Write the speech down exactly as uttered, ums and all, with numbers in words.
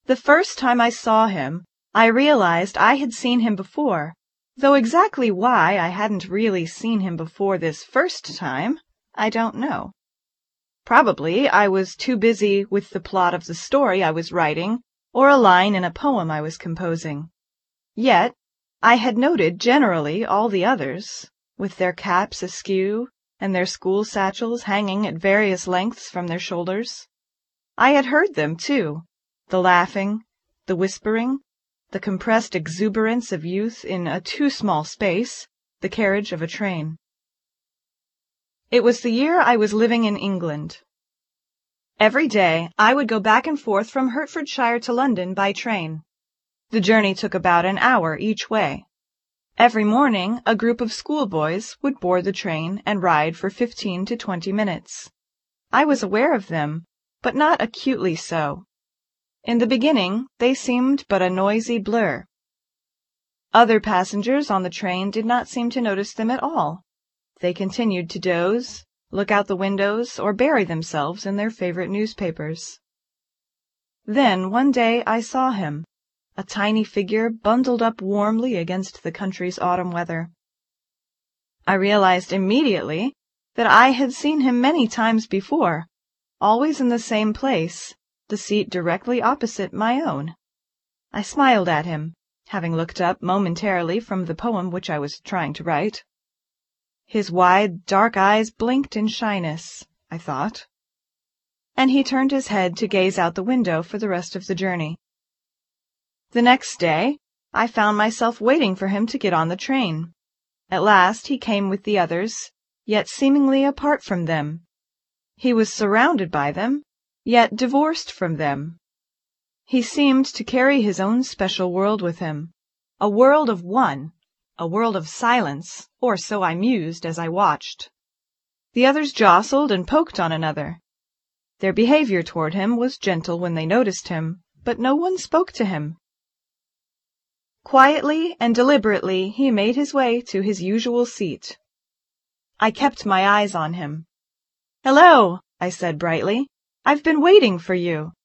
The first time I saw him, I realized I had seen him before, though exactly why I hadn't really seen him before this first time, I don't know. Probably I was too busy with the plot of the story I was writing or a line in a poem I was composing. Yet I had noted generally all the others, with their caps askew and their school satchels hanging at various lengths from their shoulders. I had heard them, too, the laughing, the whispering, the compressed exuberance of youth in a too small space, the carriage of a train. It was the year I was living in England. Every day I would go back and forth from Hertfordshire to London by train. The journey took about an hour each way. Every morning a group of schoolboys would board the train and ride for fifteen to twenty minutes. I was aware of them, but not acutely so. In the beginning they seemed but a noisy blur. Other passengers on the train did not seem to notice them at all. They continued to doze, look out the windows, or bury themselves in their favorite newspapers. Then one day I saw him, a tiny figure bundled up warmly against the country's autumn weather. I realized immediately that I had seen him many times before, always in the same place, the seat directly opposite my own. I smiled at him, having looked up momentarily from the poem which I was trying to write. His wide, dark eyes blinked in shyness, I thought, and he turned his head to gaze out the window for the rest of the journey. The next day I found myself waiting for him to get on the train. At last he came with the others, yet seemingly apart from them. He was surrounded by them, yet divorced from them. He seemed to carry his own special world with him, a world of one, a world of silence, or so I mused as I watched. The others jostled and poked on another. Their behavior toward him was gentle when they noticed him, but no one spoke to him. Quietly and deliberately he made his way to his usual seat. I kept my eyes on him. "Hello," I said brightly. "I've been waiting for you."